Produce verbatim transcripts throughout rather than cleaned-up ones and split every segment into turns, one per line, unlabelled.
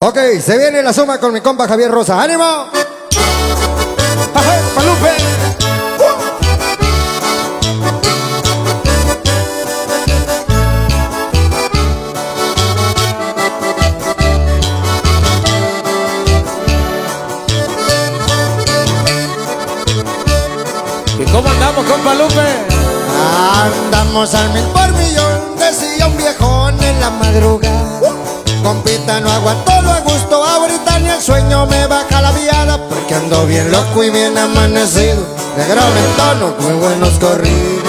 Ok, se viene la suma con mi compa Javier Rosa. ¡Ánimo! ¡Ajá, Palupe!
¿Y cómo andamos, compa Lupe?
Andamos al mil por millón, decía un viejón en la madrugada. Compita, no aguanto lo a gusto, ahorita ni el sueño me baja la viada, porque ando bien loco y bien amanecido, de gran tono, muy buenos corridos.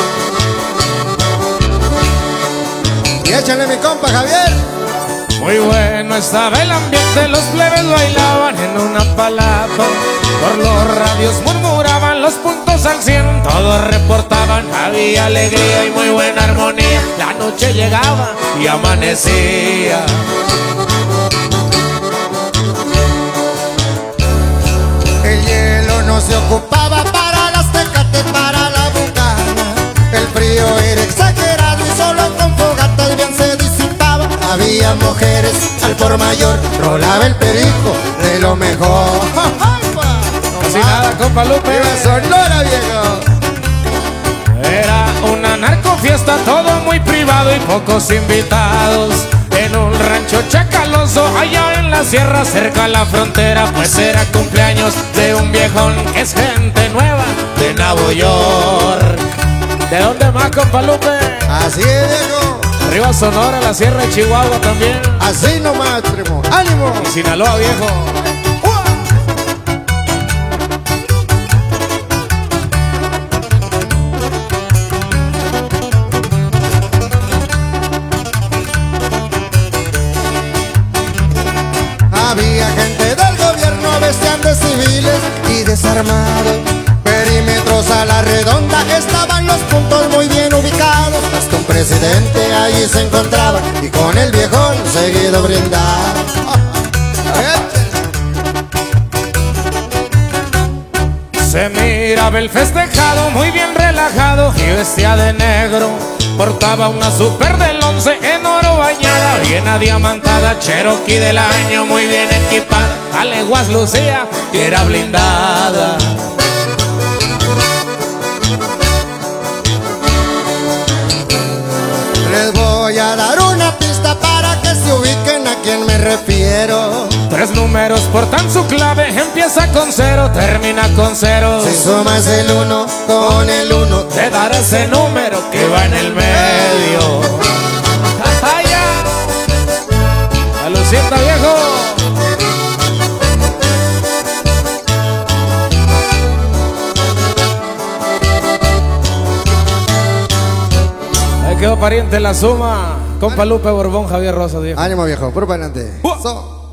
Y échale mi compa Javier.
Muy bueno estaba el ambiente, los plebes bailaban en una palapa. Por los radios murmuraban los puntos al cien, todos reportaban, había alegría y muy buena armonía. La noche llegaba y amanecía.
El hielo no se ocupaba para las tecates, para la bucana. El frío era exagerado y solo con fogatas bien se disipaba. Había mujeres al por mayor, rolaba el perico de lo mejor.
Casi nada, compa Lupe.
¡Viva Sonora, viejo!
Era una narcofiesta, todo muy privado y pocos invitados. En un rancho chacaloso, allá en la sierra, cerca a la frontera, pues era cumpleaños de un viejón que es gente nueva de Nueva York. ¿De dónde más, compa Lupe?
Así es, viejo.
Arriba Sonora, la sierra de Chihuahua también.
Así nomás, primo. ¡Ánimo!
Y Sinaloa, viejo.
Había gente del gobierno, vestían de civiles y desarmados. Perímetros a la redonda, estaban los puntos muy bien ubicados. Hasta un presidente allí se encontraba y con el viejón seguido brindaba.
Se miraba el festejado muy bien relajado y vestía de negro. Portaba una super del once en oro bañada, bien adiamantada, Cherokee del año muy bien equipada. A leguas lucía y era blindada.
Les voy a dar una pista para que se ubiquen a quién me refiero.
Tres números portan su clave, empieza con cero, termina con cero.
Si sumas el uno con el uno,
te dará ese número que va en el medio. ¡Ay, ya! ¡A lo sienta, viejo! Ahí quedó pariente la suma. Compa Lupe Borbón, Javier Rosa, viejo.
Ánimo, viejo, por para adelante.
¡Uah!
So.